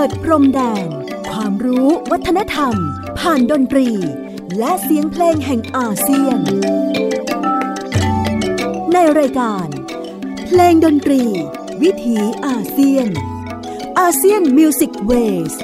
ดพรมแดนความรู้วัฒนธรรมผ่านดนตรีและเสียงเพลงแห่งอาเซียนในรายการเพลงดนตรีวิถีอาเซียนอาเซียนมิวสิกเวส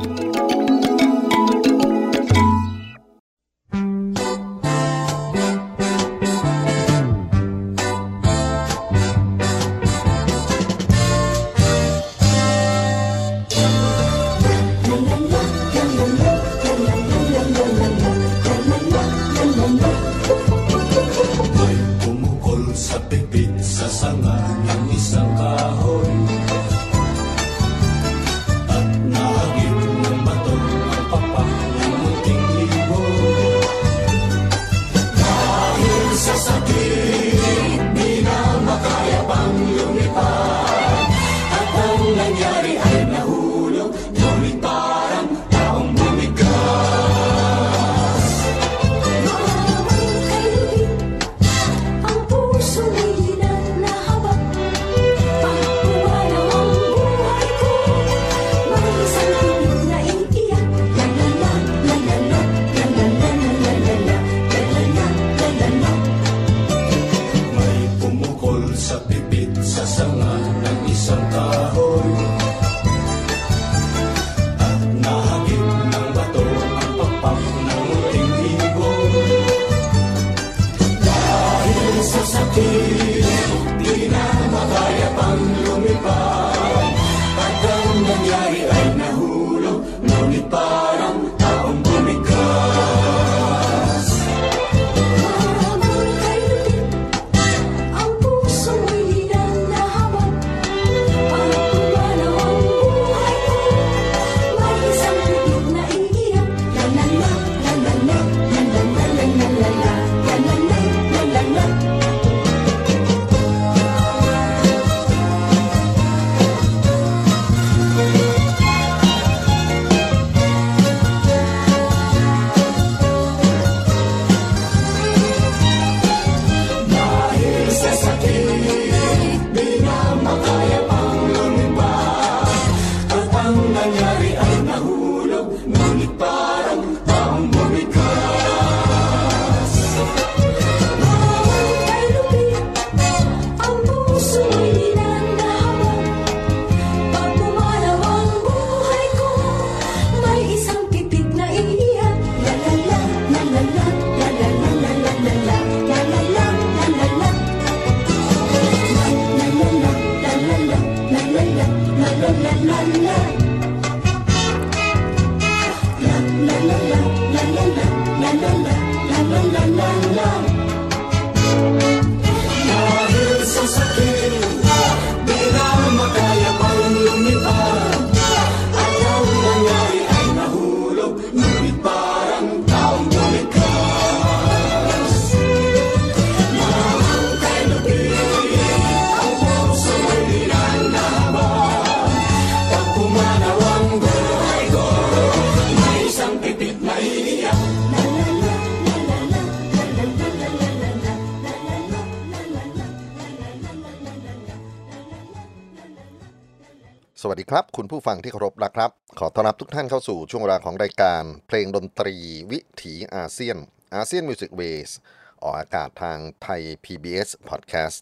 สวัสดีครับคุณผู้ฟังที่เคารพนะครับขอต้อนรับทุกท่านเข้าสู่ช่วงเวลาของรายการเพลงดนตรีวิถีอาเซียนอาเซียนมิวสิกเวสออกอากาศทางไทย PBS Podcast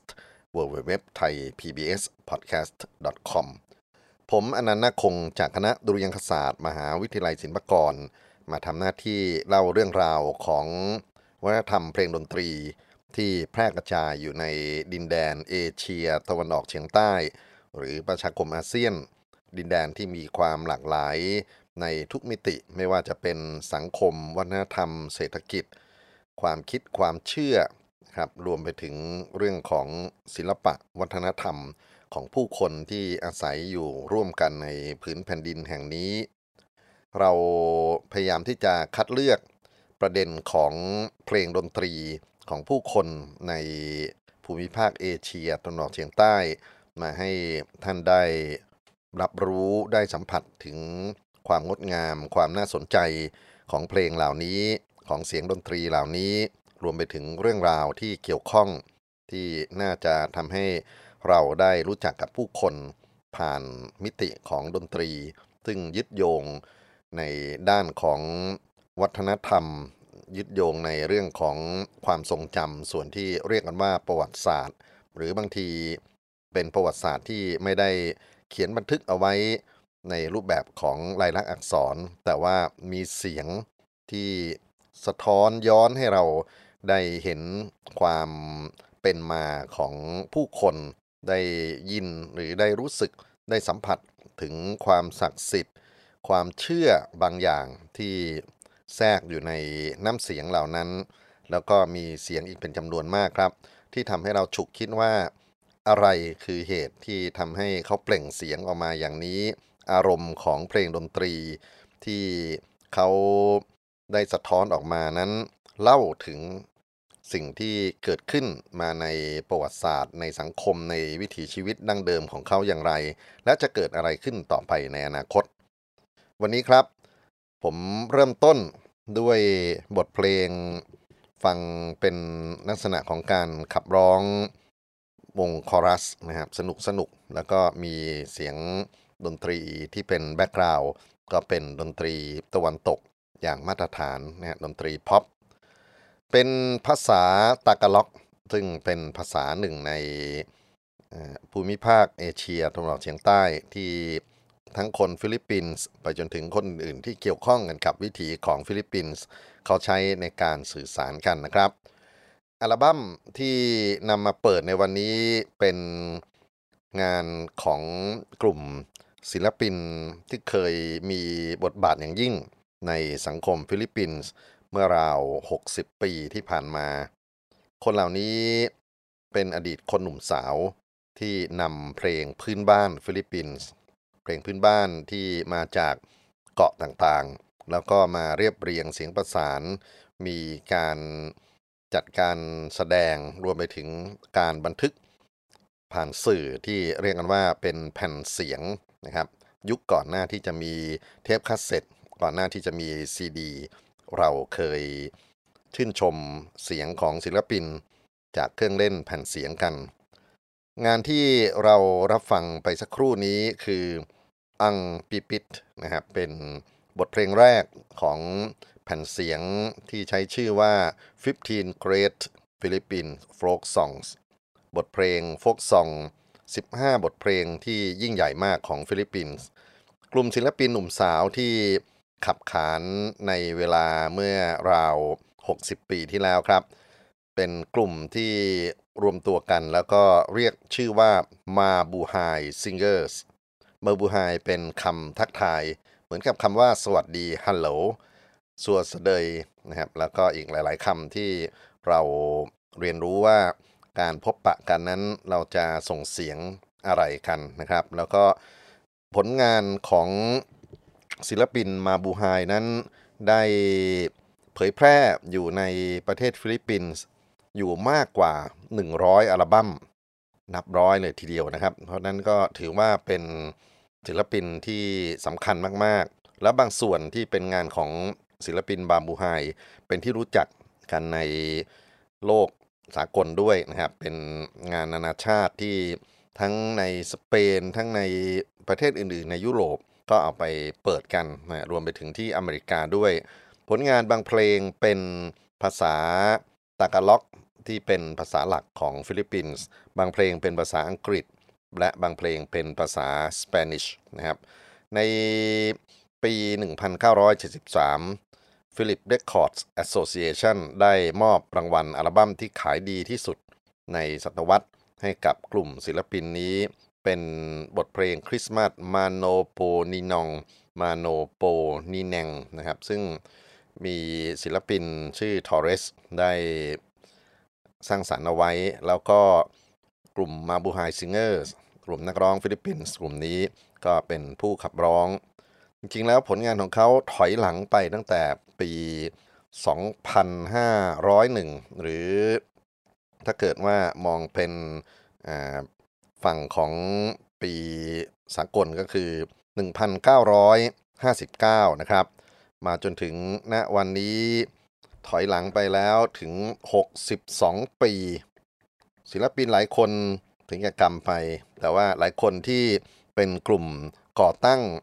www.thaipbspodcast.com ผมอนันต์คงจากคณะดุริยางคศาสตร์มหาวิทยาลัยศิลปากรมาทำหน้าที่เล่าเรื่องราวของวัฒนธรรมเพลงดนตรีที่แพร่กระจายอยู่ในดินแดนเอเชียตะวันออกเฉียงใต้หรือประชาคมอาเซียนดินแดนที่มีความหลากหลายในทุกมิติไม่ว่าจะเป็นสังคมวัฒนธรรมเศรษฐกิจความคิดความเชื่อครับรวมไปถึงเรื่องของศิลปะวัฒนธรรมของผู้คนที่อาศัยอยู่ร่วมกันในผืนแผ่นดินแห่งนี้เราพยายามที่จะคัดเลือกประเด็นของเพลงดนตรีของผู้คนในภูมิภาคเอเชียตะวันออกเฉียงใต้มาให้ท่านได้รับรู้ได้สัมผัสถึงความงดงามความน่าสนใจของเพลงเหล่านี้ของเสียงดนตรีเหล่านี้รวมไปถึงเรื่องราวที่เกี่ยวข้องที่น่าจะทำให้เราได้รู้จักกับผู้คนผ่านมิติของดนตรีซึ่งยึดโยงในด้านของวัฒนธรรมยึดโยงในเรื่องของความทรงจำส่วนที่เรียกกันว่าประวัติศาสตร์หรือบางทีเป็นประวัติศาสตร์ที่ไม่ได้เขียนบันทึกเอาไว้ในรูปแบบของลายลักษณ์อักษรแต่ว่ามีเสียงที่สะท้อนย้อนให้เราได้เห็นความเป็นมาของผู้คนได้ยินหรือได้รู้สึกได้สัมผัสถึงความศักดิ์สิทธิ์ความเชื่อบางอย่างที่แทรกอยู่ในน้ำเสียงเหล่านั้นแล้วก็มีเสียงอีกเป็นจำนวนมากครับที่ทำให้เราฉุกคิดว่าอะไรคือเหตุที่ทำให้เขาเปล่งเสียงออกมาอย่างนี้อารมณ์ของเพลงดนตรีที่เขาได้สะท้อนออกมานั้นเล่าถึงสิ่งที่เกิดขึ้นมาในประวัติศาสตร์ในสังคมในวิถีชีวิตดั้งเดิมของเขาอย่างไรและจะเกิดอะไรขึ้นต่อไปในอนาคตวันนี้ครับผมเริ่มต้นด้วยบทเพลงฟังเป็นลักษณะของการขับร้องวงคอรัสนะครับสนุกแล้วก็มีเสียงดนตรีที่เป็นแบ็กกราวด์ก็เป็นดนตรีตะวันตกอย่างมาตรฐานนะฮะดนตรีพ็อปเป็นภาษาตากาล็อกซึ่งเป็นภาษาหนึ่งในภูมิภาคเอเชียตะวันออกเฉียงใต้ที่ทั้งคนฟิลิปปินส์ไปจนถึงคนอื่นที่เกี่ยวข้องกันกับวิถีของฟิลิปปินส์เขาใช้ในการสื่อสารกันนะครับอัลบั้มที่นำมาเปิดในวันนี้เป็นงานของกลุ่มศิลปินที่เคยมีบทบาทอย่างยิ่งในสังคมฟิลิปปินส์เมื่อราว60ปีที่ผ่านมาคนเหล่านี้เป็นอดีตคนหนุ่มสาวที่นำเพลงพื้นบ้านฟิลิปปินส์เพลงพื้นบ้านที่มาจากเกาะต่างๆแล้วก็มาเรียบเรียงเสียงประสานมีการจัดการแสดงรวมไปถึงการบันทึกผ่านสื่อที่เรียกกันว่าเป็นแผ่นเสียงนะครับยุคก่อนหน้าที่จะมีเทปคาสเซ็ตก่อนหน้าที่จะมีซีดีเราเคยชื่นชมเสียงของศิลปินจากเครื่องเล่นแผ่นเสียงกันงานที่เรารับฟังไปสักครู่นี้คืออังปิปิตนะครับเป็นบทเพลงแรกของแผ่นเสียงที่ใช้ชื่อว่า15 Great Philippine Folk Songs บทเพลงโฟกซอง15บทเพลงที่ยิ่งใหญ่มากของฟิลิปปินส์กลุ่มศิลปินหนุ่มสาวที่ขับขานในเวลาเมื่อราว60ปีที่แล้วครับเป็นกลุ่มที่รวมตัวกันแล้วก็เรียกชื่อว่ามาบูไฮซิงเกอร์สมาบูไฮเป็นคำทักทายเหมือนกับคำว่าสวัสดีฮัลโหลสัวสเดยนะครับแล้วก็อีกหลายๆคำที่เราเรียนรู้ว่าการพบปะกันนั้นเราจะส่งเสียงอะไรกันนะครับแล้วก็ผลงานของศิลปินมาบูไฮนั้นได้เผยแพร่อยู่ในประเทศฟิลิปปินส์อยู่มากกว่า100อัลบั้มนับร้อยเลยทีเดียวนะครับเพราะนั้นก็ถือว่าเป็นศิลปินที่สำคัญมากๆและบางส่วนที่เป็นงานของศิลปินบาบูไฮเป็นที่รู้จักกันในโลกสากลด้วยนะครับเป็นงานนานาชาติที่ทั้งในสเปนทั้งในประเทศอื่นๆในยุโรปก็เอาไปเปิดกันนะรวมไปถึงที่อเมริกาด้วยผลงานบางเพลงเป็นภาษาตากาล็อกที่เป็นภาษาหลักของฟิลิปปินส์บางเพลงเป็นภาษาอังกฤษและบางเพลงเป็นภาษาสเปนิชนะครับในปี 1973 Philip Records Association ได้มอบรางวัลอัลบั้มที่ขายดีที่สุดในศตวรรษให้กับกลุ่มศิลปินนี้เป็นบทเพลงคริสต์มาสมาโนโปนินองมาโนโปนิแนงนะครับซึ่งมีศิลปินชื่อทอเรสได้สร้างสรรค์เอาไว้แล้วก็กลุ่มมาบูไฮซิงเกอร์กลุ่มนักร้องฟิลิปปินส์กลุ่มนี้ก็เป็นผู้ขับร้องจริงๆแล้วผลงานของเขาถอยหลังไปตั้งแต่ปี 2501 หรือถ้าเกิดว่ามองเป็นฝั่งของปีสากลก็คือ 1959 นะครับมาจนถึงณวันนี้ถอยหลังไปแล้วถึง62ปีศิลปินหลายคนถึงจะกำไปแต่ว่าหลายคนที่เป็นกลุ่มก่อตั้ง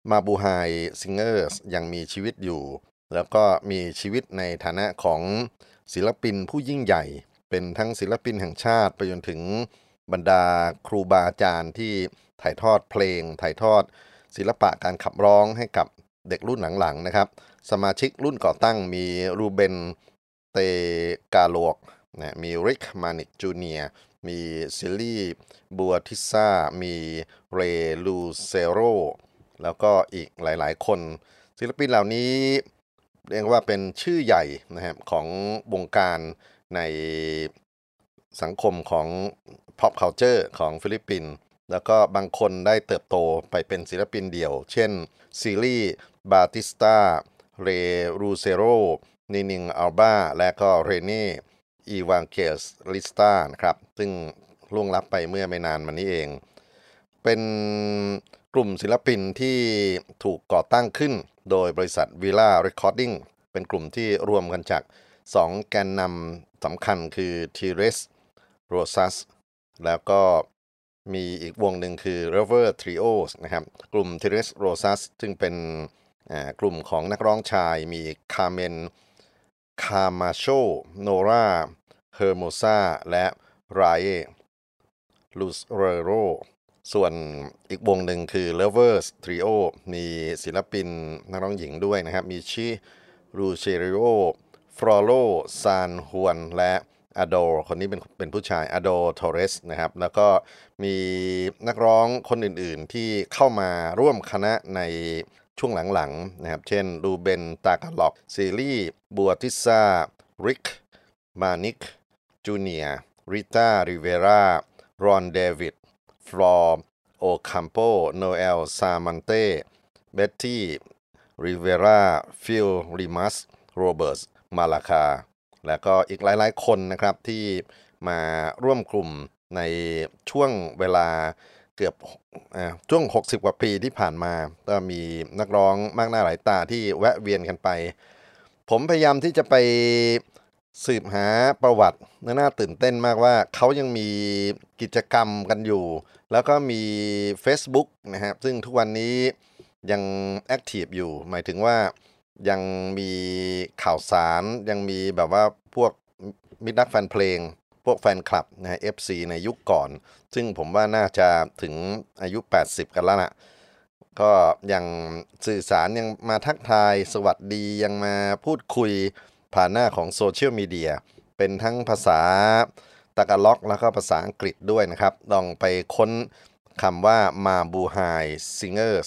มาบูไฮซิงเกอร์สยังมีชีวิตอยู่แล้วก็มีชีวิตในฐานะของศิลปินผู้ยิ่งใหญ่เป็นทั้งศิลปินแห่งชาติไปจนถึงบรรดาครูบาอาจารย์ที่ถ่ายทอดเพลงถ่ายทอดศิลปะการขับร้องให้กับเด็กรุ่นหลังๆนะครับสมาชิกรุ่นก่อตั้งมีรูเบนเตกาโลกนะมีริกมานิกจูเนียร์มีซิลลี่บัวทิซ่ามีเรลูเซโรแล้วก็อีกหลายๆคนศิลปินเหล่านี้เรียกว่าเป็นชื่อใหญ่นะครับของวงการในสังคมของ pop culture ของฟิลิปปินส์แล้วก็บางคนได้เติบโตไปเป็นศิลปินเดี่ยวเช่นซิลี่บาติสตาเรรูเซโรนินิงอัลบาและก็เรเน่อีวานเกลสลิสตานะครับซึ่งล่วงลับไปเมื่อไม่นานมานี้เองเป็นกลุ่มศิลปินที่ถูกก่อตั้งขึ้นโดยบริษัท Villa Recording เป็นกลุ่มที่รวมกันจาก2แกนนำสำคัญคือทีเรสโรซัสแล้วก็มีอีกวงหนึ่งคือ River Trios นะครับกลุ่ม Teres Rosas ซึ่งเป็นกลุ่มของนักร้องชายมีคาเมนคามาโชโนราเฮอร์โมซาและไรเอลูสเรโรส่วนอีกวงหนึ่งคือ Lovers Trio มีศิลปินนักร้องหญิงด้วยนะครับมีชิรูเชริโอฟรอโลซานฮวนและอโดคนนี้เป็นผู้ชายอโดโทเรสนะครับแล้วก็มีนักร้องคนอื่นๆที่เข้ามาร่วมคณะในช่วงหลังๆนะครับเช่นรูเบนตากาล็อกซีรีบัวติซาริกมานิกจูเนียริต้าริเวรารอนเดวิดฟลอร์โอคัมโปโนเอลซามันเต้เบ็ตตี้ริเวราฟิลริมัสโรเบิร์ตมาลาคาและก็อีกหลายๆคนนะครับที่มาร่วมกลุ่มในช่วงเวลาเกือบช่วง60กว่าปีที่ผ่านมาก็มีนักร้องมากหน้าหลายตาที่แวะเวียนกันไปผมพยายามที่จะไปสืบหาประวัติน่าตื่นเต้นมากว่าเขายังมีกิจกรรมกันอยู่แล้วก็มี Facebook นะครับซึ่งทุกวันนี้ยังแอคทีฟอยู่หมายถึงว่ายังมีข่าวสารยังมีแบบว่าพวกมิตรรักแฟนเพลงพวกแฟนคลับนะ FC ในยุคก่อนซึ่งผมว่าน่าจะถึงอายุ80กันแล้วนะก็ยังสื่อสารยังมาทักทายสวัสดียังมาพูดคุยผ่านหน้าของโซเชียลมีเดียเป็นทั้งภาษาตากาล็อกแล้วก็ภาษาอังกฤษด้วยนะครับลองไปค้นคำว่ามาบูไฮซิงเกอร์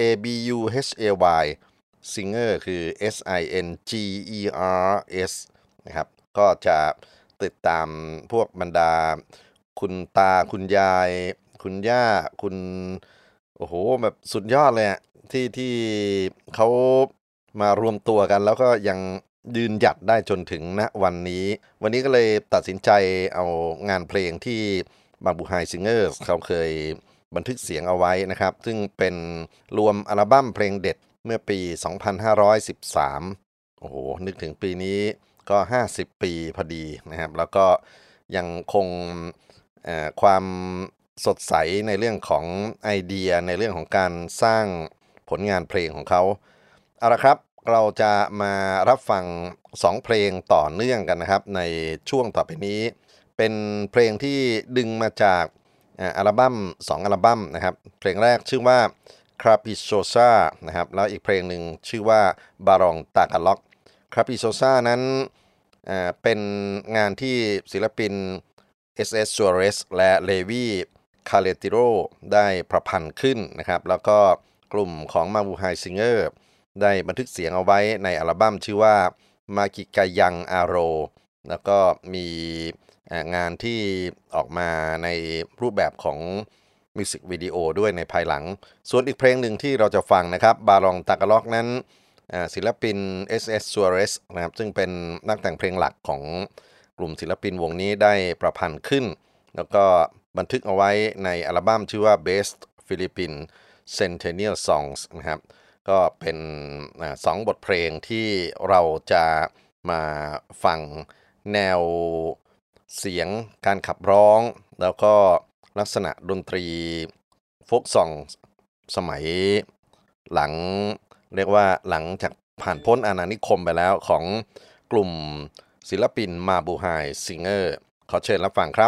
MABUHAY Singer คือ SINGERS นะครับก็จะติดตามพวกบรรดาคุณตาคุณยายคุณย่าคุณโอ้โหแบบสุดยอดเลยอะที่เขามารวมตัวกันแล้วก็ยังยืนหยัดได้จนถึงณวันนี้ก็เลยตัดสินใจเอางานเพลงที่มาบูไฮซิงเกอร์เขาเคยบันทึกเสียงเอาไว้นะครับซึ่งเป็นรวมอัลบั้มเพลงเด็ดเมื่อปี 2513 โอ้โหนึกถึงปีนี้ก็50 ปีพอดีนะครับแล้วก็ยังคงความสดใสในเรื่องของไอเดียในเรื่องของการสร้างผลงานเพลงของเขาเอาละครับเราจะมารับฟัง2เพลงต่อเนื่องกันนะครับในช่วงต่อไปนี้เป็นเพลงที่ดึงมาจากอัลบั้ม2อัลบั้มนะครับเพลงแรกชื่อว่าคราปิโซซานะครับแล้วอีกเพลงหนึ่งชื่อว่าบารองตากาล็อกคราปิโซซานั้นเป็นงานที่ศิลปิน SS Suarez และเลวีคาเลติโรได้ประพันธ์ขึ้นนะครับแล้วก็กลุ่มของมาบูไฮซิงเกอร์ได้บันทึกเสียงเอาไว้ในอัลบั้มชื่อว่ามากิกายังอาโรแล้วก็มีงานที่ออกมาในรูปแบบของมิวสิกวิดีโอด้วยในภายหลังส่วนอีกเพลงหนึ่งที่เราจะฟังนะครับบารองตากาล็อกนั้นศิลปิน SS Suarez นะครับซึ่งเป็นนักแต่งเพลงหลักของกลุ่มศิลปินวงนี้ได้ประพันธ์ขึ้นแล้วก็บันทึกเอาไว้ในอัลบั้มชื่อว่า Best Philippine Centennial Songs นะครับก็เป็น2 บทเพลงที่เราจะมาฟังแนวเสียงการขับร้องแล้วก็ลักษณะดนตรีโฟล์กซองสมัยหลังเรียกว่าหลังจากผ่านพ้นอาณานิคมไปแล้วของกลุ่มศิลปินมาบูไฮซิงเกอร์ขอเชิญรับฟังครับ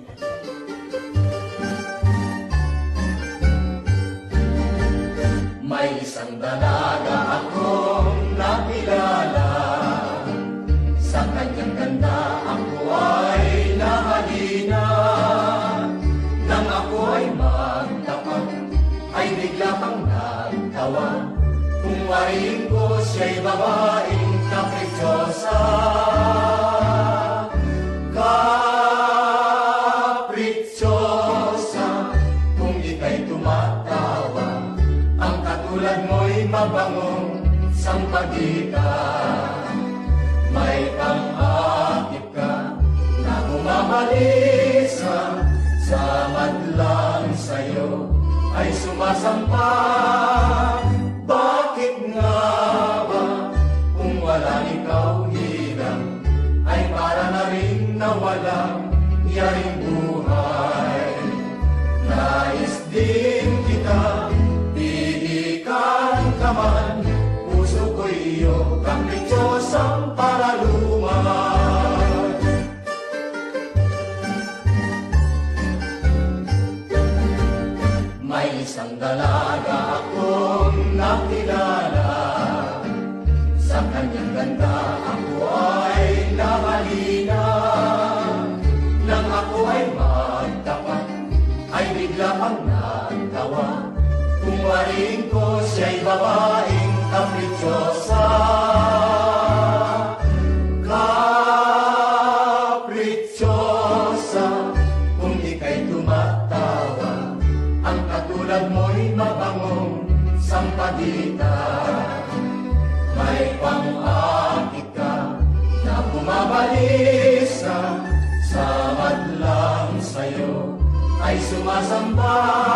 May isang dalaga akong nakilala. Sa kanyang ganda ako ay nahalina. Nang ako ay magtapat, ay bigla kang nagtawa. Kung wariin ko siya'y babaeng kaprichosa. Kaprichosa, kung ika'y tumatawa, ang katulad mo'y mabangong sampagita. May pang-akit ka na bumabalisa, sa madlang sa'yo ay sumasampa. Bakit nga ba kung wala ikaw hirang, ay para na rin nawalang yaring buhay. Nais din kita kaman, puso ko iyo, kaprichosang paraluman. May isang dalaga akong nakilala. Sa kanyang ganda ako ay nahalina. Nang ako ay magtapat, ay bigla kang nagtawa. Kung wariin ko siya'y babaeng kaprichosa. Kaprichosa, kung ika'y tumatawa, ang katulad mo'y mabangong sampagita. May pang-akit ka na bumabalisa, sa madlang sa'yo ay sumasamba.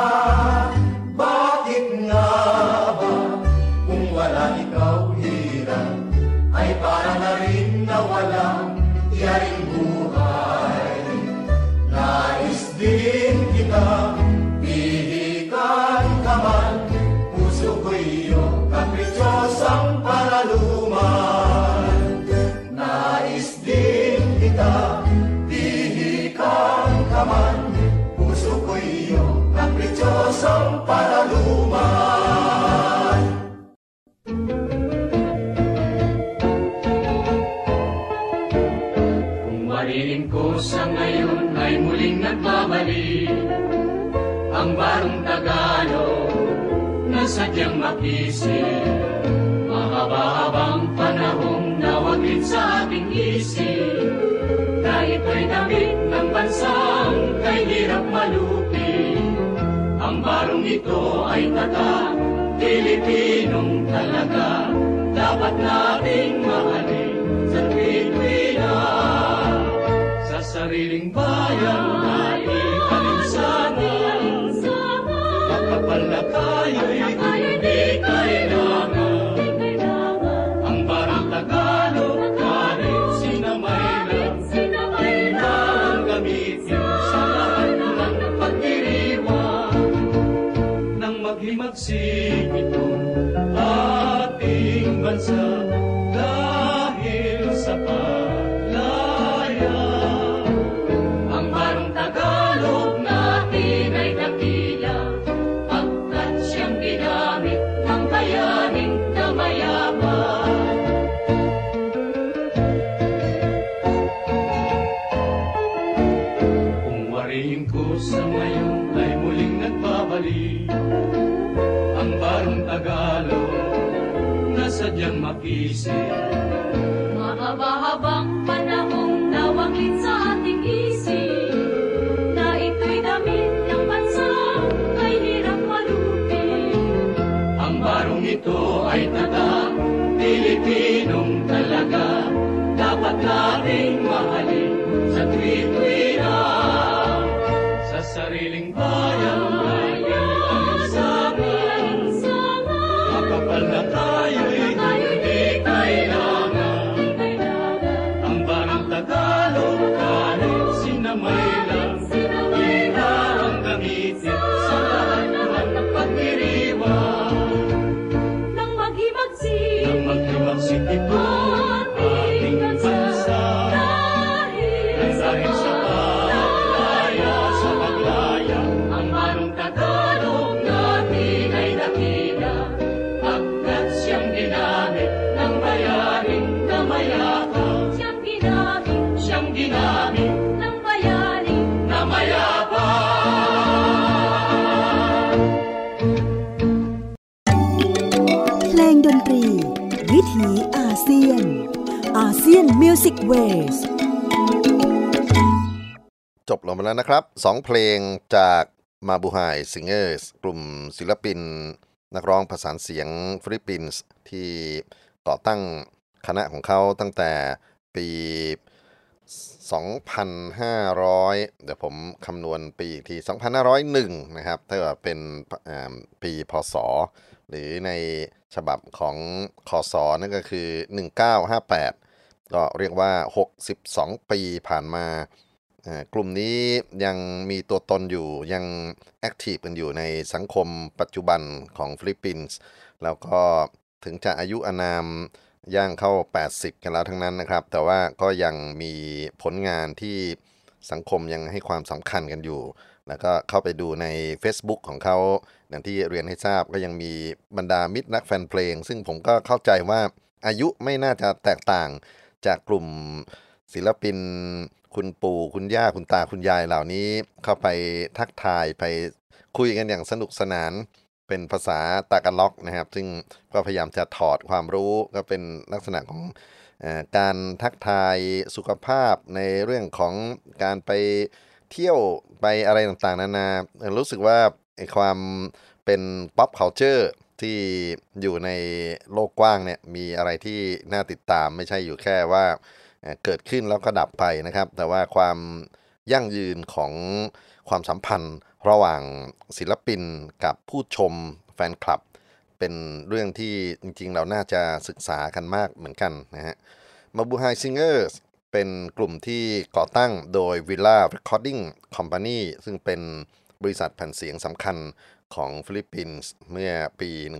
Bakit nga ba kung wala ikaw hirang, ay para na rin nawalang yaring buhay. Nais din kita pihikan ka man, puso ko iyo, kaprichosang paraluman. Nais din kita pihikan ka man, puso ko iyo, kaprichosang paraluman. Kung wariin ko sa ngayon ay muling nagbabalik, ang barong Tagalog na sadyang makisip. Mahaba-habang panahong nawaglit sa ating isip, na ito'y damit ng bansang kay hirap malupit. Ang barong ito ay tatak, Pilipinong talaga, dapat nating mahalin sa tuwi-tuwina. Sa sariling bayan na ikalinsana, makapal na tayo'y hindi kailangan. Ang barong Tagalog kahit sinamay lang, ang gamitin sa lahat ng pagdiriwang. Nang maghimagsik itong ating bansa, dahil sa palaya, ang barong Tagalog natin ay dakila, pagkat siyang ginamit ng bayaning kamayaman. Kung wariin ko sa ngayon ay muling nagbabalik, ang barong Tagalog na sadyang makisip. Mahaba-habang panahong nawaglit sa ating isip, na ito'y damit ng bansang kay hirap malupit. Ang barong ito ay tatak, Pilipinong talaga, dapat nating mahalin sa tuwi-tuwina. Sa sariling bayan ay alinsana, makapal na tayo'y hindi kailangan. Ang ดนตรีวิถีอาเซียนอาเซียนมิวสิกเวสจบลงไปแล้วนะครับ2เพลงจากมาบูไฮซิงเกอร์สกลุ่มศิลปินนักร้องประสานเสียงฟิลิปปินส์ที่ก่อตั้งคณะของเขาตั้งแต่ปี 2,500 เดี๋ยวผมคำนวณปีอีกที 2,501 นะครับถ้าเกิดเป็นปีพศหรือในฉบับของคศนั่นก็คือ 1958 ก็เรียกว่า 62 ปีผ่านมากลุ่มนี้ยังมีตัวตนอยู่ยังแอคทีฟกันอยู่ในสังคมปัจจุบันของฟิลิปปินส์แล้วก็ถึงจะอายุอานามย่างเข้า80กันแล้วทั้งนั้นนะครับแต่ว่าก็ยังมีผลงานที่สังคมยังให้ความสำคัญกันอยู่แล้วก็เข้าไปดูใน Facebook ของเขาอย่างที่เรียนให้ทราบก็ยังมีบรรดามิตรนักแฟนเพลงซึ่งผมก็เข้าใจว่าอายุไม่น่าจะแตกต่างจากกลุ่มศิลปินคุณปู่คุณย่าคุณตาคุณยายเหล่านี้เข้าไปทักทายไปคุยกันอย่างสนุกสนานเป็นภาษาตากาล็อกนะครับซึ่งก็พยายามจะถอดความรู้ก็เป็นลักษณะของการทักทายสุขภาพในเรื่องของการไปเที่ยวไปอะไรต่างๆนานารู้สึกว่าความเป็น pop culture ที่อยู่ในโลกกว้างเนี่ยมีอะไรที่น่าติดตามไม่ใช่อยู่แค่ว่าเกิดขึ้นแล้วก็ดับไปนะครับแต่ว่าความยั่งยืนของความสัมพันธ์ระหว่างศิลปินกับผู้ชมแฟนคลับเป็นเรื่องที่จริงๆเราน่าจะศึกษากันมากเหมือนกันนะฮะมาบูไฮซิงเกอร์สเป็นกลุ่มที่ก่อตั้งโดย Villa Recording Company ซึ่งเป็นบริษัทแผ่นเสียงสำคัญของฟิลิปปินส์เมื่อปี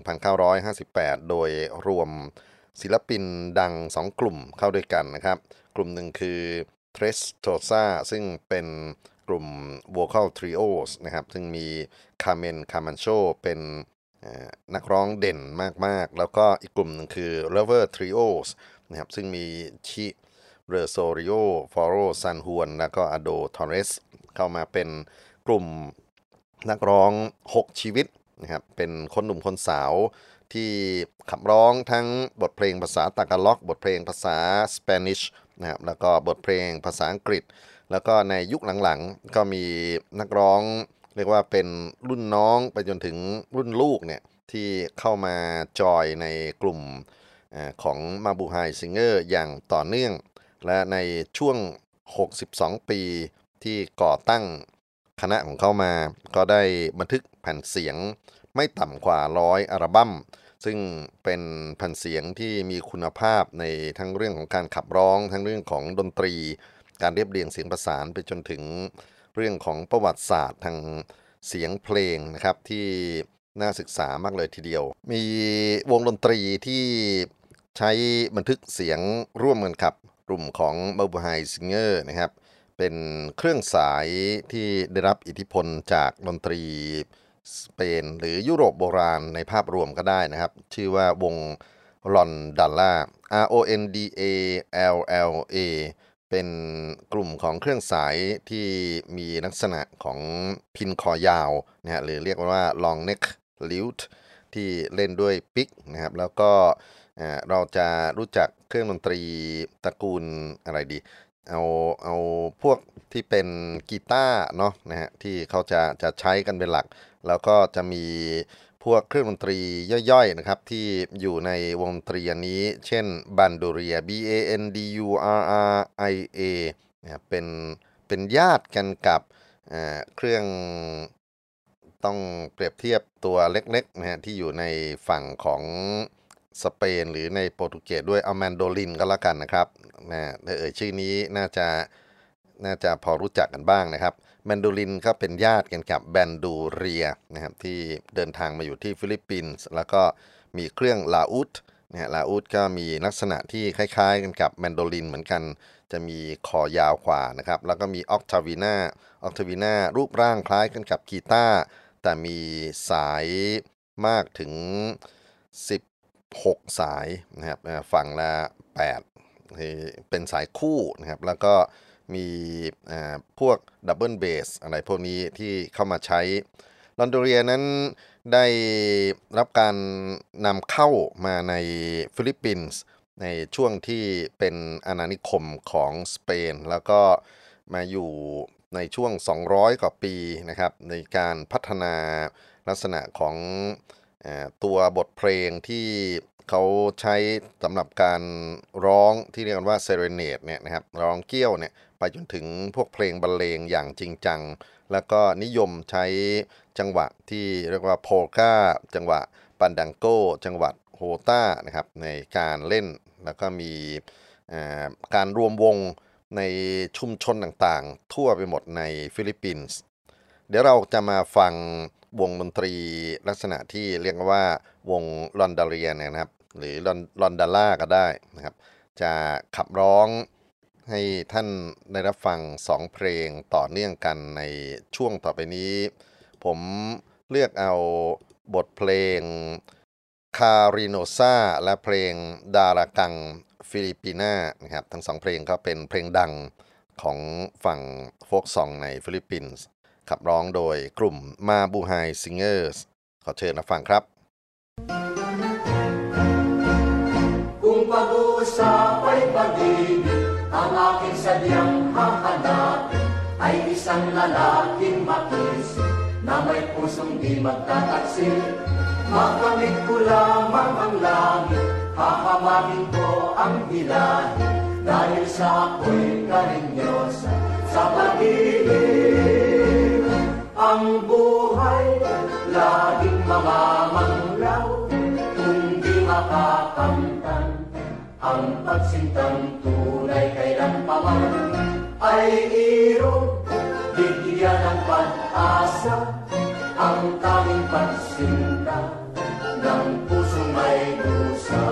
1958 โดยรวมศิลปินดัง2กลุ่มเข้าด้วยกันนะครับกลุ่มหนึ่งคือ Tres Tosa ซึ่งเป็นกลุ่ม Vocal Trios นะครับซึ่งมี Carmen Camacho เป็นนักร้องเด่นมากๆแล้วก็อีกกลุ่มหนึ่งคือ Lover Trios นะครับซึ่งมีชิเรโซริโอฟอโรซันฮวนแล้วก็อโดทอเรสเข้ามาเป็นกลุ่มนักร้อง6ชีวิตนะครับเป็นคนหนุ่มคนสาวที่ขับร้องทั้งบทเพลงภาษาตากาล็อกบทเพลงภาษาสเปนิชนะครับแล้วก็บทเพลงภาษาอังกฤษแล้วก็ในยุคหลังๆก็มีนักร้องเรียกว่าเป็นรุ่นน้องไปจนถึงรุ่นลูกเนี่ยที่เข้ามาจอยในกลุ่มของมาบูไฮซิงเกอร์อย่างต่อเนื่องและในช่วง62ปีที่ก่อตั้งคณะของเขามาก็ได้บันทึกแผ่นเสียงไม่ต่ำกว่า100อัลบั้มซึ่งเป็นแผ่นเสียงที่มีคุณภาพในทั้งเรื่องของการขับร้องทั้งเรื่องของดนตรีการเรียบเรียงเสียงประสานไปจนถึงเรื่องของประวัติศาสตร์ทางเสียงเพลงนะครับที่น่าศึกษามากเลยทีเดียวมีวงดนตรีที่ใช้บันทึกเสียงร่วมกันกับกลุ่มของมาบูไฮซิงเกอร์นะครับเป็นเครื่องสายที่ได้รับอิทธิพลจากดนตรีสเปนหรือยุโรปโบราณในภาพรวมก็ได้นะครับชื่อว่าวงรอนดัลล่า RONDALLA เป็นกลุ่มของเครื่องสายที่มีลักษณะของพินคอยาวนะฮะหรือเรียกว่า long neck lute ที่เล่นด้วยปิกนะครับแล้วก็เราจะรู้จักเครื่องดนตรีตระกูลอะไรดีเอาพวกที่เป็นกีตาร์เนาะนะฮะที่เขาจะใช้กันเป็นหลักแล้วก็จะมีพวกเครื่องดนตรีย่อยๆนะครับที่อยู่ในวงดนตรีอันนี้เช่นบันโดเรีย BANDURRIA นะครับเป็นญาติกันกับเครื่องต้องเปรียบเทียบตัวเล็กๆนะฮะที่อยู่ในฝั่งของสเปนหรือในโปรตุเกสด้วยเอาแมนโดลินก็แล้วกันนะครับชื่อนี้น่าจะพอรู้จักกันบ้างนะครับแมนโดลินก็เป็นญาติกันกับแบนดูเรียนะครับที่เดินทางมาอยู่ที่ฟิลิปปินส์แล้วก็มีเครื่องลาอุดนะฮะลาอุดก็มีลักษณะที่คล้ายๆกันกับแมนโดลินเหมือนกันจะมีคอยาวกว่านะครับแล้วก็มีออกทาวีนารูปร่างคล้ายกันกับกีตาร์แต่มีสายมากถึง16สายนะครับฝั่งละ8เป็นสายคู่นะครับแล้วก็มีพวกดับเบิลเบสอะไรพวกนี้ที่เข้ามาใช้ลอนโดเรียนั้นได้รับการนำเข้ามาในฟิลิปปินส์ในช่วงที่เป็นอาณานิคมของสเปนแล้วก็มาอยู่ในช่วง200กว่าปีนะครับในการพัฒนาลักษณะของตัวบทเพลงที่เขาใช้สำหรับการร้องที่เรียกกันว่าเซเรเนดเนี่ยนะครับร้องเกี้ยวเนี่ยไปจนถึงพวกเพลงบรรเลงอย่างจริงจังแล้วก็นิยมใช้จังหวะที่เรียกว่าโพลกาจังหวะปันดังโกจังหวะโฮต้านะครับในการเล่นแล้วก็มีการรวมวงในชุมชนต่างๆทั่วไปหมดในฟิลิปปินส์เดี๋ยวเราจะมาฟังวงดนตรีลักษณะที่เรียกว่าวงลอนดาเรียนะครับหรือลอนดาล่าก็ได้นะครับจะขับร้องให้ท่านได้รับฟัง2เพลงต่อเนื่องกันในช่วงต่อไปนี้ผมเลือกเอาบทเพลงคาริโนซาและเพลงดารากังฟิลิปปิน่านะครับทั้ง2เพลงก็เป็นเพลงดังของฝั่งโฟล์กซองในฟิลิปปินส์ขับร้องโดยกลุ่มมาบูไฮซิงเกอร์สขอเชิญรับฟังครับ Kung pag-uusap ay pag-ibig, ang aking sadyang hahanapin ay isang lalaking makisig na may pusong di magtataksil. Makamit ko lamang ang langit, hahamakin ko ang hilahin dahil sa ako'y karinyosa sa pag-ibig. Ang buhay laging mamamanglaw kung di makakamtan. Ang pagsintang tunay kailanpaman ay irog, bigyan ng pag-asa. Ang tanging pagsinta ng pusong may dusa.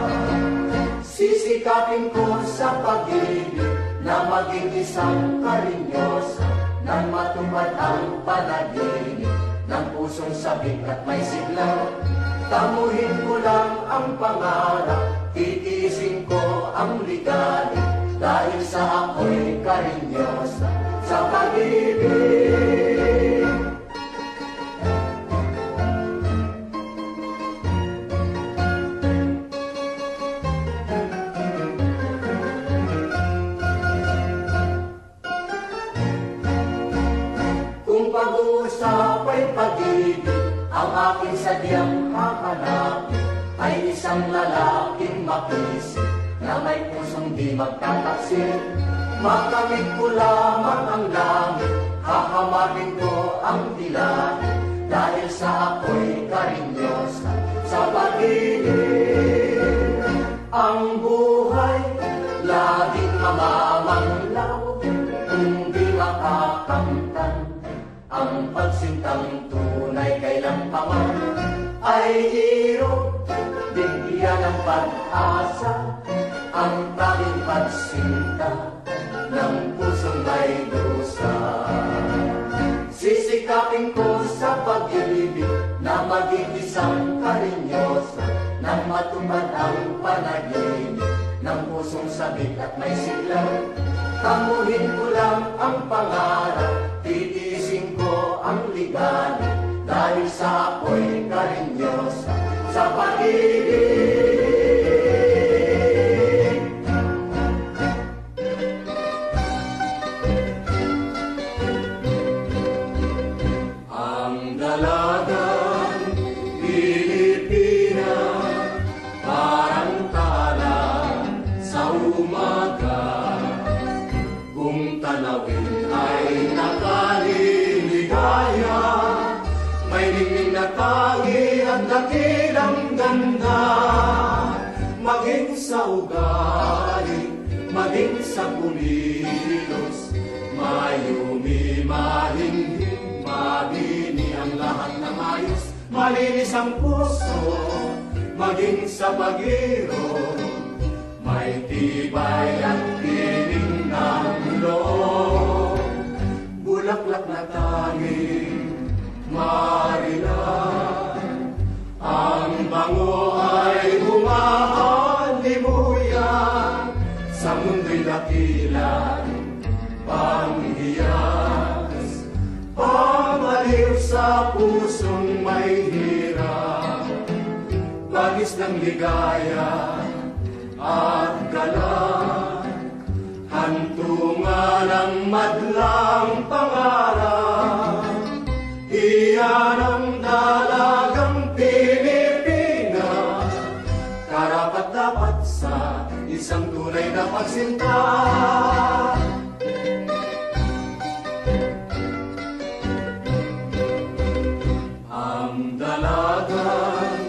Sisikapin ko sa pag-ibig na maging isang karinyosa nang matupad ang panaginip ng pusong sabik at may sigla. Tamuhin ko lang ang pangarap, titiisin ko ang ligalig dahil sa ako'y karinyosa sa pag-ibig. Pag-uusap ay pag-ibig, ang aking sadyang hahanapin ay isang lalaking makisig na may pusong di magtataksil. Makamit ko lamang ang langit, hahamakin ko ang dilahin dahil sa ako'y karinyosa sa pag-ibig. Ang buhay laging mamamanglaw kung di makakamtan. Ang pagsintang tunay kailanpaman ay irog, bigyan ng pag-asa. Ang tanging pagsinta ng pusong may dusa. Sisikapin ko sa pag-ibig na maging isang karinyosa nang matupad ang panaginip ng pusong sabik at may sigla. Tamuhin ko lang ang pangarap, titiisin ko ang ligalig dahil sa ako'y karinyosa sa pag-ibig. Ang dalagang Pilipina parang tala sa umaga. Kung tanawin ay nakaliligaya, may ningning na tangi at dakilang ganda. Maging sa ugali, maging sa kumilos, mayumi, mahinhin, mabini ang lahat ng ayos. Malinis ang puso, maging sa pag-iro, may tibay at tining ng loob. Bulaklak na tanging marilan, ang bango ay humahalimuyan. Sa mundo'y dakilan, panghiyas, pamaliw sa puso. Bagis ng ligaya at galak, hantungan ng madlang pangarap. Iyan ang dalagang Pilipinas, karapat-dapat sa isang tunay na pagsinta. Ang dalagang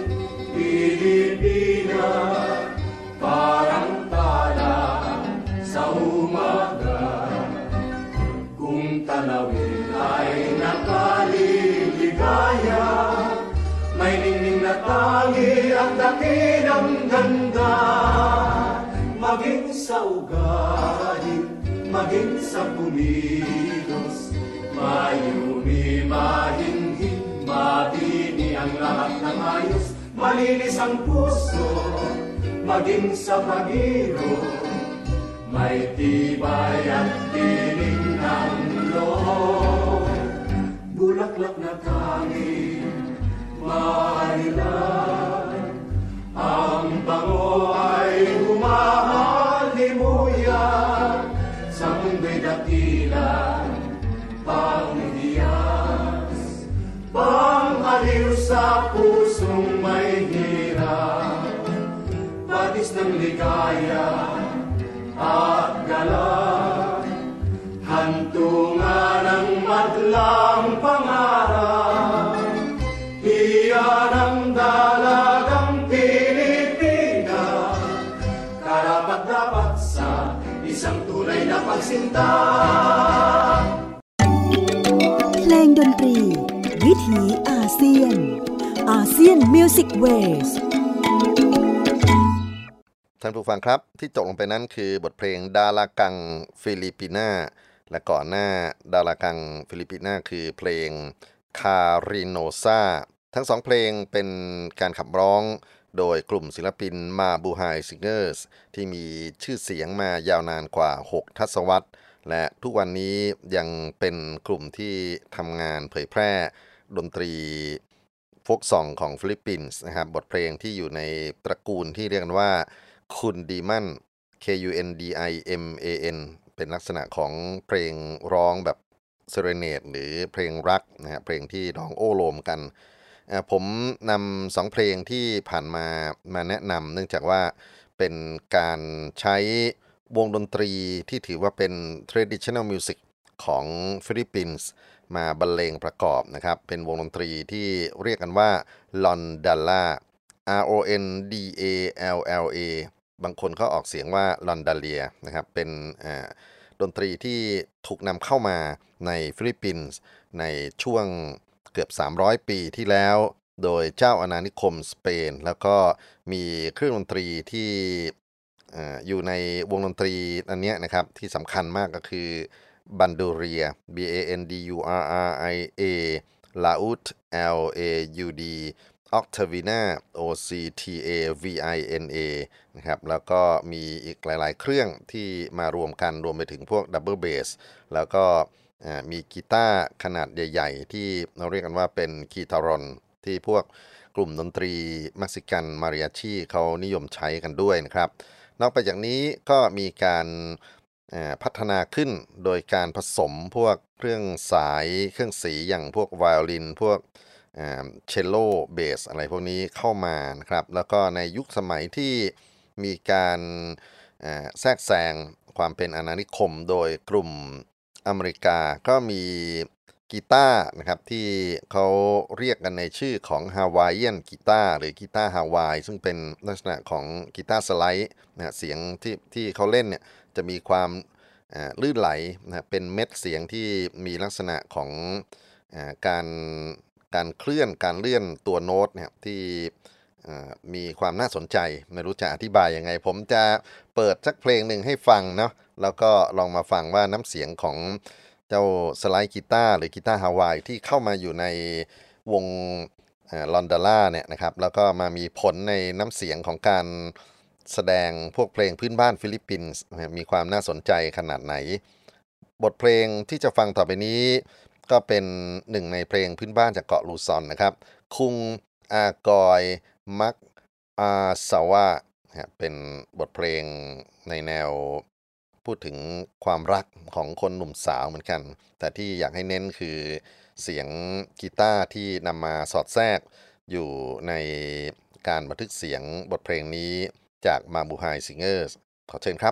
Pilipinas, parang tala sa umaga. Kung tanawin ay nakaliligaya, may ningning na tangi ang dakilang ganda. Maging sa ugali, maging sa kumilos, mayumi, mahinhin, mabini ang lahat ng ayos. Malinis ang puso, maging sa pag-iro, may tibay at tinig ng loob. Bulaklak na tangi, maalilan, ang bango ay humahalimuyan. Sa mundo'y dakila, panghiyas, pang-aliw sa pusong may hirap. Batis ng ligaya at galak, hantungan ng madlang pangarap. Iyan ang dalagang Pilipinas, karapat-dapat sa isang tunay na pagsinta. เพลงดนตรีวิถีอาเซียนอาเซียนมิวสิกเวสท่านผู้ฟังครับที่จบลงไปนั้นคือบทเพลงดารากังฟิลิปปิน่าและก่อนหน้าดารากังฟิลิปปิน่าคือเพลงคาริโนซาทั้งสองเพลงเป็นการขับร้องโดยกลุ่มศิลปินมาบูไฮซิงเกอร์สที่มีชื่อเสียงมายาวนานกว่า6ทศวรรษและทุกวันนี้ยังเป็นกลุ่มที่ทำงานเผยแพร่ดนตรีโฟล์กซองของฟิลิปปินส์นะครับบทเพลงที่อยู่ในตระกูลที่เรียกกันว่าคุณดีมัน KUNDIMAN เป็นลักษณะของเพลงร้องแบบเซเรเนดหรือเพลงรักนะฮะเพลงที่ร้องโอ้โลมกันผมนำ2เพลงที่ผ่านมาแนะนำเนื่องจากว่าเป็นการใช้วงดนตรีที่ถือว่าเป็น traditional music ของฟิลิปปินส์มาบรรเลงประกอบนะครับเป็นวงดนตรีที่เรียกกันว่าลอนดัลลา RONDALLA บางคนเขาออกเสียงว่าลอนดาเลียนะครับเป็นดนตรีที่ถูกนำเข้ามาในฟิลิปปินส์ในช่วงเกือบ300ปีที่แล้วโดยเจ้าอาณานิคมสเปนแล้วก็มีเครื่องดนตรีที่อยู่ในวงดนตรีอันนี้นะครับที่สำคัญมากก็คือบันดูเรีย BANDURRIA ลาอุด LAUD Octavina OCTAVINA นะครับแล้วก็มีอีกหลายๆเครื่องที่มารวมกันรวมไปถึงพวกดับเบิลเบสแล้วก็มีกีตาร์ขนาดใหญ่ๆที่เราเรียกกันว่าเป็นกีตารอนที่พวกกลุ่มดนตรีเม็กซิกันมาริอาชีเขานิยมใช้กันด้วยนะครับนอกไปจากนี้ก็มีการพัฒนาขึ้นโดยการผสมพวกเครื่องสายเครื่องสีอย่างพวกไวโอลินพวกเชลโลเบสอะไรพวกนี้เข้ามานะครับแล้วก็ในยุคสมัยที่มีการแทรกแซงความเป็นอาณานิคมโดยกลุ่มอเมริกาก็มีกีตาร์นะครับที่เขาเรียกกันในชื่อของฮาวายเอียนกีตาร์หรือกีตาร์ฮาวายซึ่งเป็นลักษณะของกีตาร์สไลด์นะเสียงที่เขาเล่นเนี่ยจะมีความลื่นไหลนะเป็นเม็ดเสียงที่มีลักษณะของการเคลื่อนการเลื่อนตัวโน้ตเนี่ยที่มีความน่าสนใจไม่รู้จะอธิบายยังไงผมจะเปิดสักเพลงหนึ่งให้ฟังเนาะแล้วก็ลองมาฟังว่าน้ำเสียงของเจ้าสไลด์กีตาร์หรือกีตาร์ฮาวายที่เข้ามาอยู่ในวงลอนดาล่าเนี่ยนะครับแล้วก็มามีผลในน้ำเสียงของการแสดงพวกเพลงพื้นบ้านฟิลิปปินส์มีความน่าสนใจขนาดไหนบทเพลงที่จะฟังต่อไปนี้ก็เป็นหนึ่งในเพลงพื้นบ้านจากเกาะลูซอนนะครับคุงอากอยมักอาสาวะเป็นบทเพลงในแนวพูดถึงความรักของคนหนุ่มสาวเหมือนกัน แต่ที่อยากให้เน้นคือเสียงกีตาร์ที่นำมาสอดแทรกอยู่ในการบันทึกเสียงบทเพลงนี้จากมาบูไฮซิงเกอร์ขอเชิญครับ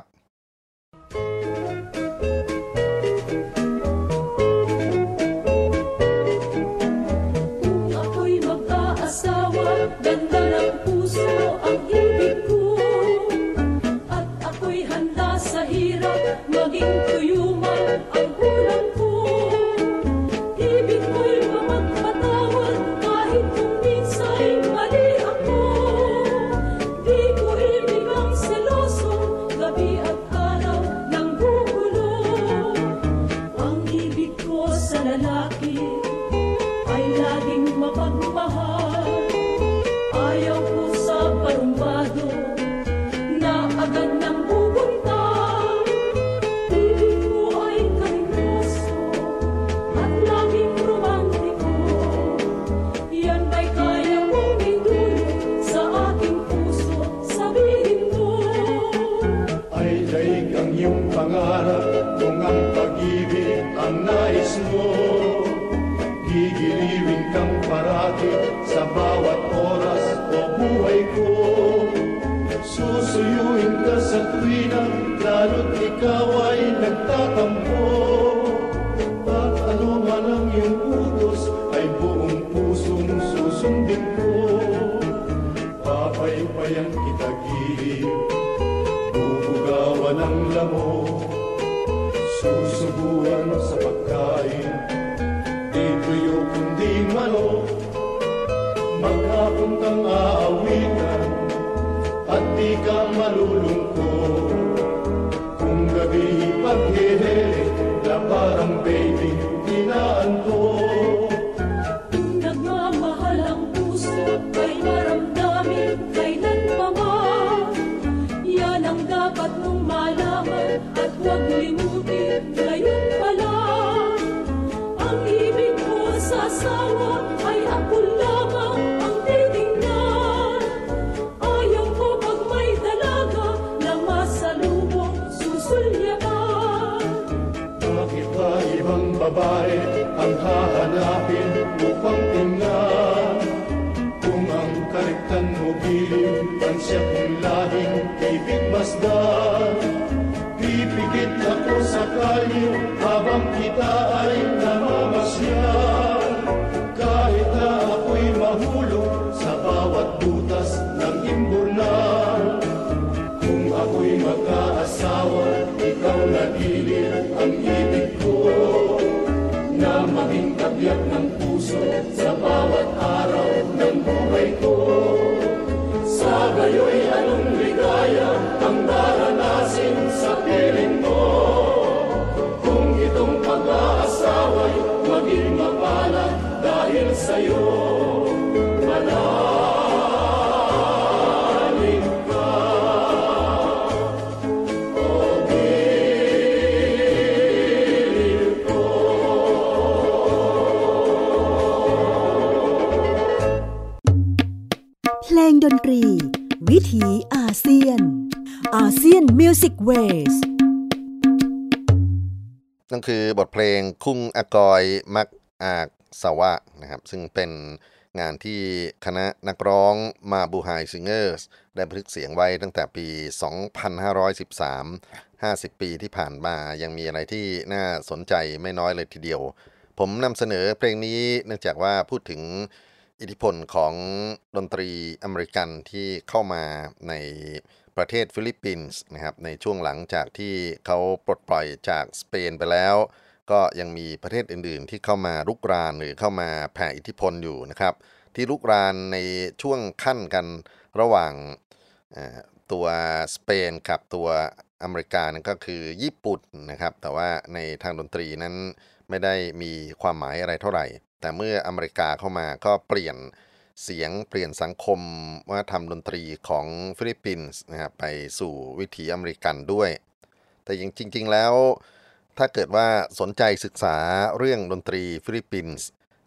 Ako'y mag-aasawa, ganda ng puso ang ibig ko. At ako'y handa sa hirap, maging tuyuman ang kulang ko. Ibig ko'y magpatawad kahit kung minsa'y mali ako. Di ko ibig ang seloso, gabi at araw ng gugulo. Ang ibig ko sa lalaki ay laging mapagmahal. Ayaw ko sa parumbado na agad nang pupunta. Ibig ko ay karinyoso at laging romantiko. Yan ba'y kaya kong idulog sa aking puso? Sabihin mo. Ay daig ang iyong pangarap kung ang pag-ibig ang nais mo. Gigiliwin kang parati sa bawat oras o buhay ko. Susuyuin ka sa tuwina, lalo't ikaw ay nagtatampo. At ano man ang iyong utos ay buong pusong susundin ko. Papaypayan kita gilid, bubugawan ang lamok, susubuan sa pagkain, di tuyo kundi manok. Maghapon kang aawitan at di ka malulungkot. Kung gabi paghihilig na parang baby inaantok. Kung nagmamahal ang puso ay maramdamin kailanman. Yan ang dapat mong malaman at huwag limutin ngayon pa lang. Ang ibig ko sa asawa ay ako lamang ang titingnan. Ayaw ko pag may dalaga na masalubong susulyapan. Bakit ba ibang babae ang hahanapin upang tingnan? Kung ang karektan mo gilid, ang siya kong lahing ibig masdan. Pipikit ako sa kalye habang kita ay namamasyal. Kahit na ako'y mahulog sa bawat butas ng imburnal. Kung ako'y magkaasawa, ikaw na gilid ang ibig ko. Na maging tabiak ng puso sa bawat araw ng buhay ko. Sa gayo'y anong ligaya ang daranasin sa piling mo. Kung itong pag-aasawa'y maging mapalad dahil sa'yo, manalig ka. O gilid ko. เพลงดนตรี วิถีอาเซียนอาเซียนมิวสิกเวสนั่นคือบทเพลงคุงอากอยมักอากสาวะนะครับซึ่งเป็นงานที่คณะนักร้องมาบูไฮซิงเกอร์สได้บันทึกเสียงไว้ตั้งแต่ปี 2513 50 ปีที่ผ่านมายังมีอะไรที่น่าสนใจไม่น้อยเลยทีเดียว ผมนำเสนอเพลงนี้เนื่องจากว่าพูดถึงอิทธิพลของดนตรีอเมริกันที่เข้ามาในประเทศฟิลิปปินส์นะครับในช่วงหลังจากที่เขาปลดปล่อยจากสเปนไปแล้วก็ยังมีประเทศอื่นๆที่เข้ามารุกรานหรือเข้ามาแผ่อิทธิพลอยู่นะครับที่รุกรานในช่วงขั้นกันระหว่างตัวสเปนกับตัวอเมริกานั่นก็คือญี่ปุ่นนะครับแต่ว่าในทางดนตรีนั้นไม่ได้มีความหมายอะไรเท่าไหร่แต่เมื่ออเมริกาเข้ามาก็เปลี่ยนเสียงเปลี่ยนสังคมว่าทำดนตรีของฟิลิปปินส์นะครับไปสู่วิถีอเมริกันด้วยแต่จริงๆแล้วถ้าเกิดว่าสนใจศึกษาเรื่องดนตรีฟิลิปปินส์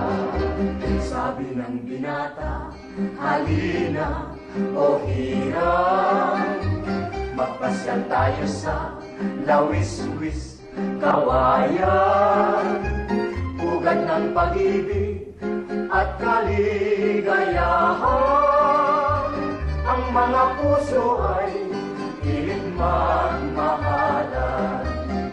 Sabi ng binata, halina o hirang, magpasyal tayo sa Lawis-wis Kawayan. Ugat ng pag-ibig at kaligayahan, ang mga puso ay pilit magmahalan.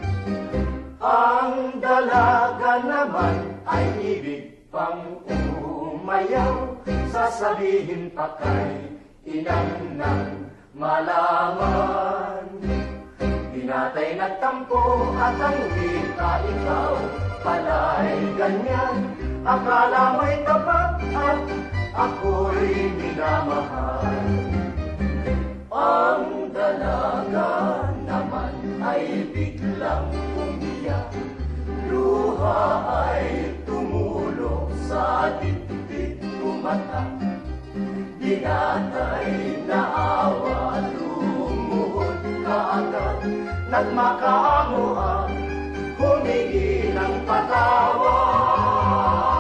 Ang dalaga naman ay ibig pang umayaw, sasabihin pa kay inang nang malaman. Binatay nagtampo at ang wika, ikaw pala'y ganyan. Akala mo'y tapat at ako'y minamahal. Ang dalaga naman ay biglang umiyak, luha ay tumulog sa dibdib tumatak. Binatay na awa, lumuhod kaagad, nagmakaamuan, humingi ng patawad.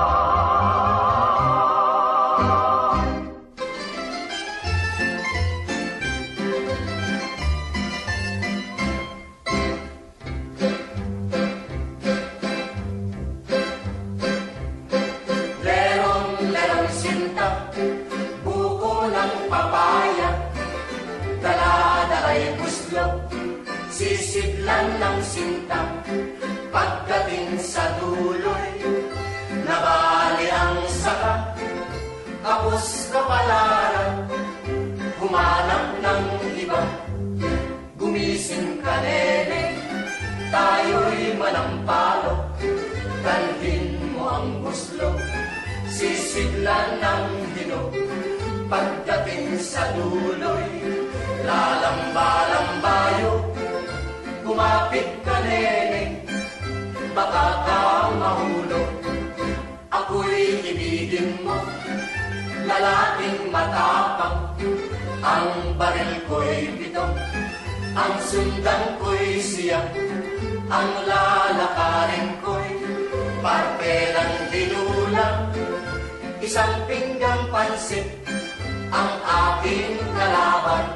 Lerong sinta, buko ng papaya, dala-dala'y buslo, sisidlan ng sinta. Pagdating sa duloy, nabali ang saka, kapos kapalaran, humanap ng iba. Gumising ka, nene, tayo'y manampalo, dalhin mo ang buslo, sisidlan ng hinog. Pagdating sa duloy, lalamba-lambayo, kumapit ka, nene, baka ka mahulog. Ako'y ibigin mo, lalaking matapang, ang baril ko'y pito, ang sundan ko'y siya, ang lalakarin ko'y parte ng dinulang, isang pinggang pansit ang aking kalaban.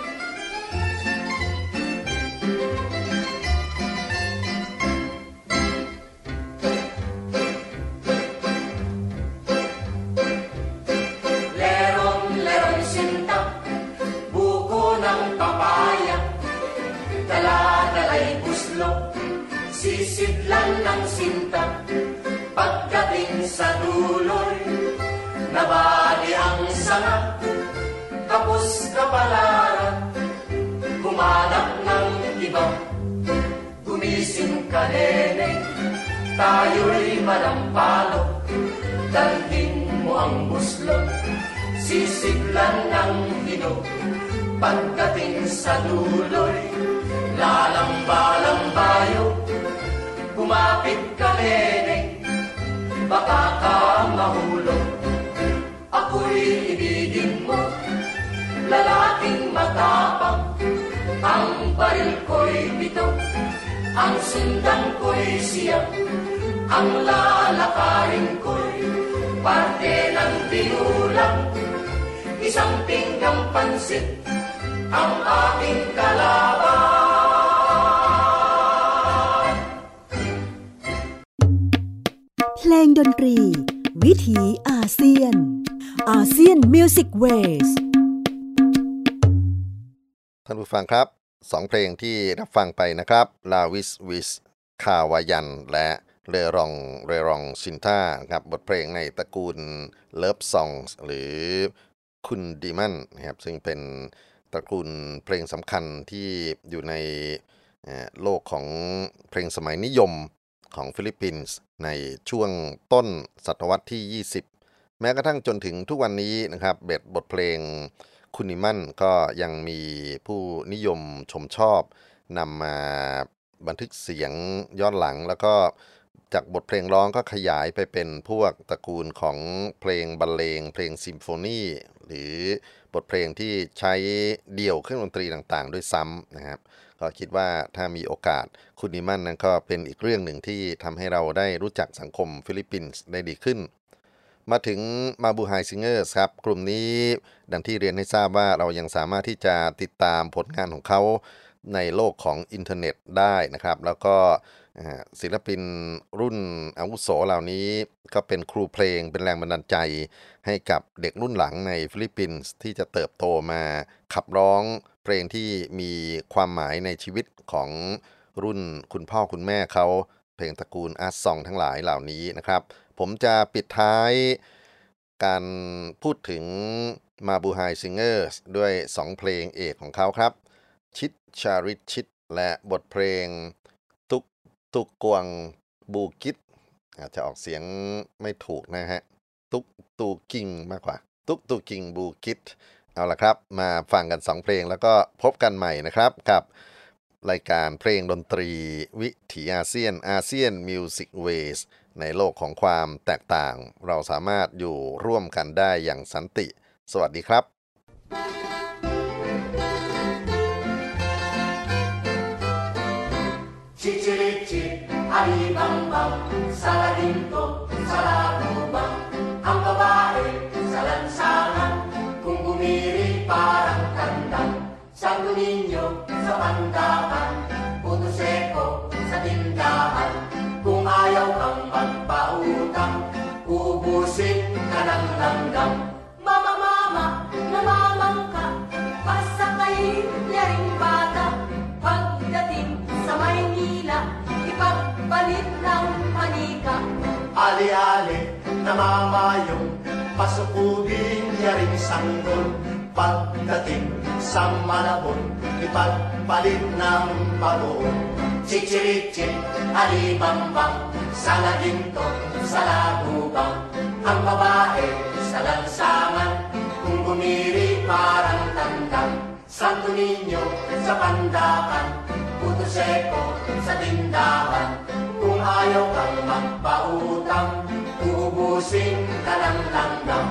Lerong sinta, buko ng papaya, dala-dala'y buslo, sisidlan ng sinta. Pagdating sa duloy, nabali ang sanga, kapos kapalaran, humanap ng iba. Gumising ka, nene, tayo'y manampalo, dalhin mo ang buslo, sisiglan ng hinog. Pagdating sa duloy, lalamba-lambayo, kumapit ka, nene, baka ka mahulog. Ako'y ibigin mo, lalaking matapang, ang baril ko'y pito, ang sundan ko'y siya, ang lalakarin ko'y parte ng binulang, isang pinggang pansit ang aking kalaban. เพลงดนตรีวิถีอาเซียนอาเซียนมิวสิกเวสท่านผู้ฟังครับ2เพลงที่รับฟังไปนะครับลาวิสวิสคาวายันและเรรองซินท่าครับบทเพลงในตระกูลเลิฟซองส์หรือคุณดีมันนะครับซึ่งเป็นตระกูลเพลงสำคัญที่อยู่ในโลกของเพลงสมัยนิยมของฟิลิปปินส์ในช่วงต้นศตวรรษที่20แม้กระทั่งจนถึงทุกวันนี้นะครับบทเพลงคุณนิมันก็ยังมีผู้นิยมชมชอบนำมาบันทึกเสียงย้อนหลังแล้วก็จากบทเพลงร้องก็ขยายไปเป็นพวกตระกูลของเพลงบรรเลงเพลงซิมโฟนีหรือบทเพลงที่ใช้เดี่ยวเครื่องดนตรีต่างๆด้วยซ้ำนะครับก็คิดว่าถ้ามีโอกาสคุณนิมันนั้นก็เป็นอีกเรื่องหนึ่งที่ทำให้เราได้รู้จักสังคมฟิลิปปินส์ได้ดีขึ้นมาถึงมาบูไฮซิงเกอร์ครับกลุ่มนี้ดังที่เรียนให้ทราบว่าเรายังสามารถที่จะติดตามผลงานของเขาในโลกของอินเทอร์เน็ตได้นะครับแล้วก็ศิลปินรุ่นอาวุโสเหล่านี้ก็เป็นครูเพลงเป็นแรงบันดาลใจให้กับเด็กรุ่นหลังในฟิลิปปินส์ที่จะเติบโตมาขับร้องเพลงที่มีความหมายในชีวิตของรุ่นคุณพ่อคุณแม่เขาเพลงตระกูลอาร์ตซองทั้งหลายเหล่านี้นะครับผมจะปิดท้ายการพูดถึงมาบูไฮซิงเกอร์ด้วย2เพลงเอกของเขาครับชิดชาริชิดและบทเพลงตุกกวงบูกิตอาจจะออกเสียงไม่ถูกนะฮะตุกตูกิงมากกว่าตุกตูกิงบูกิตเอาล่ะครับมาฟังกัน2เพลงแล้วก็พบกันใหม่นะครับกับรายการเพลงดนตรีวิถีอาเซียนมิวสิกเวสในโลกของความแตกต่างเราสามารถอยู่ร่วมกันได้อย่างสันติสวัสดีครับ Cicit-cicit, alibang-bang, saladinto, salabubang. Ang babae sa lansangan, kung bumiri parang kandang. Santo Niño sa pandakan, puto seko sa tindahan. Kung ayaw kang magpautang, ubusin ka ng langgam. Mama, namamang ka, pasakayin niya ring bata. Pagdating sa Maynila, ipagpalit ng manika. Ali-ali, namamayong, pasukubin niya ring sanggol. Pagdating sa Malabon, ipagpalit ng bagoong. Chichirichit, alibambang, salaginto, salagubang. Ang babae sa lansangan, kung bumiri parang tandang. Santo Niño sa pandakan, puto seko sa tindahan. Kung ayaw kang magpautang, uubusin ka ng langgam.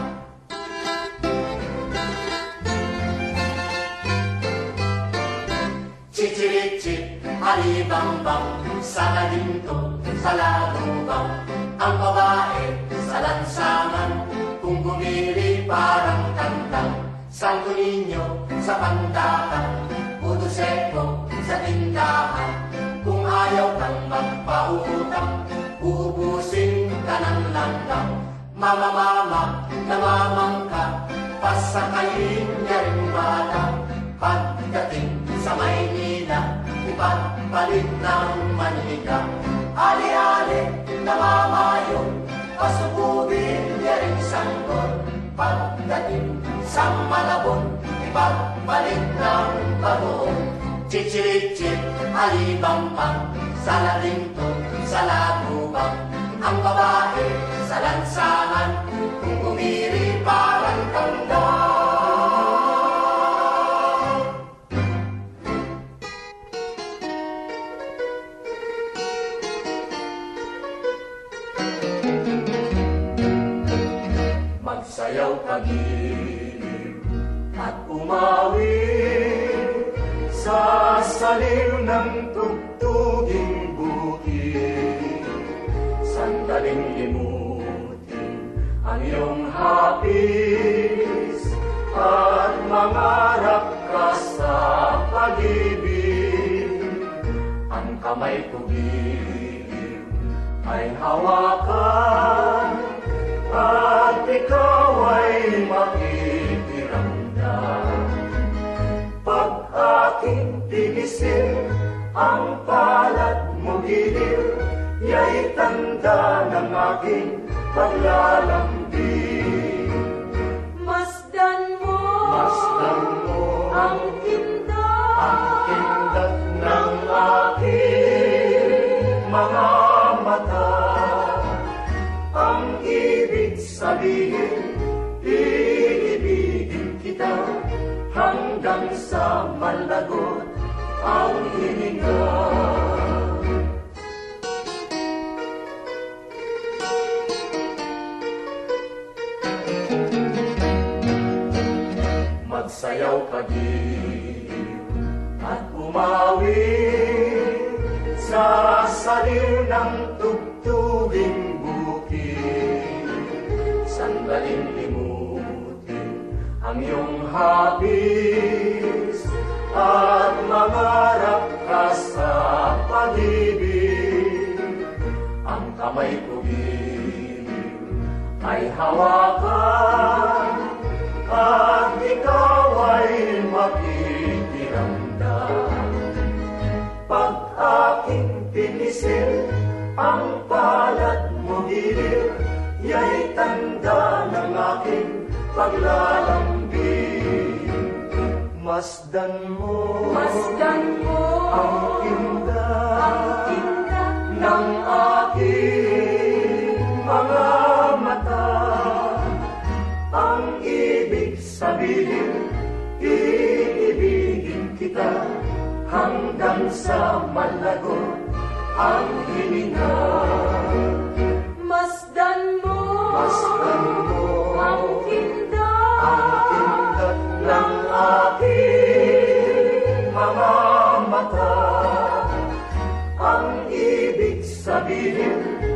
Chichirichit, alibambang, salaginto, salagubang. Ang babae sa lansangan, kung bumiri parang tandang. Santo Niño sa pandakan, puto seko sa tindahan. Kung ayaw kang magpautang, uubusin ka ng langgam. Mama, namamang ka, pasakayin niya rin bata. Pagdating sa Maynila, ipagpalit ng manika. Ali-ali, namamayong, pasukubin niya rin sanggol. Pagdating sa Malabon, ipagpalit ng bagoong. Chichirichit, alibambang, salaginto, salagubang. Ang babae sa lansangan, kung umiri parang tandang. Magsayaw kagiliw at umawit sa saliw ng tugtuging bukid. Sandaling limutin ang iyong hapis at mangarap ka sa pag-ibig. Ang kamay ko giliw ay hawakan at ikaw ay makikiramdam. Pag aking tigisin ang palad mo giliw, ya'y tanda ng aking paglalambing. Masdan mo ang kindat ng aking mga mata. Ang ibig sabihin, iibigin kita hanggang sa malagot ang hininga. Magsayaw kagiliw at umawit sa saliw ng tugtuging bukid. Sa ang iyong hapis at mangarap ka sa pag-ibig. Ang kamay ko ay hawakan at ikaw ay makikiramdam. Pag aking pinisil ang palad mo gilid, ya'y tanda ng aking paglalambing. Masdan mo ang indah ng aking mga mata. Ang ibig sabihin, iibigin kita hanggang sa malago ang hininga. Masdan mo ang kindat ng aking mga mata. Ang ibig sabihin,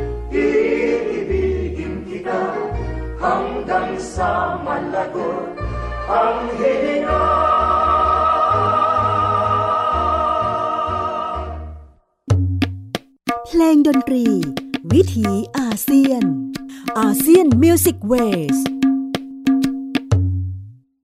iibigin kita hanggang sa malago ang hininga. เพลงดนตรีวิถีอาเซียนอาเซียนมิวสิกเวส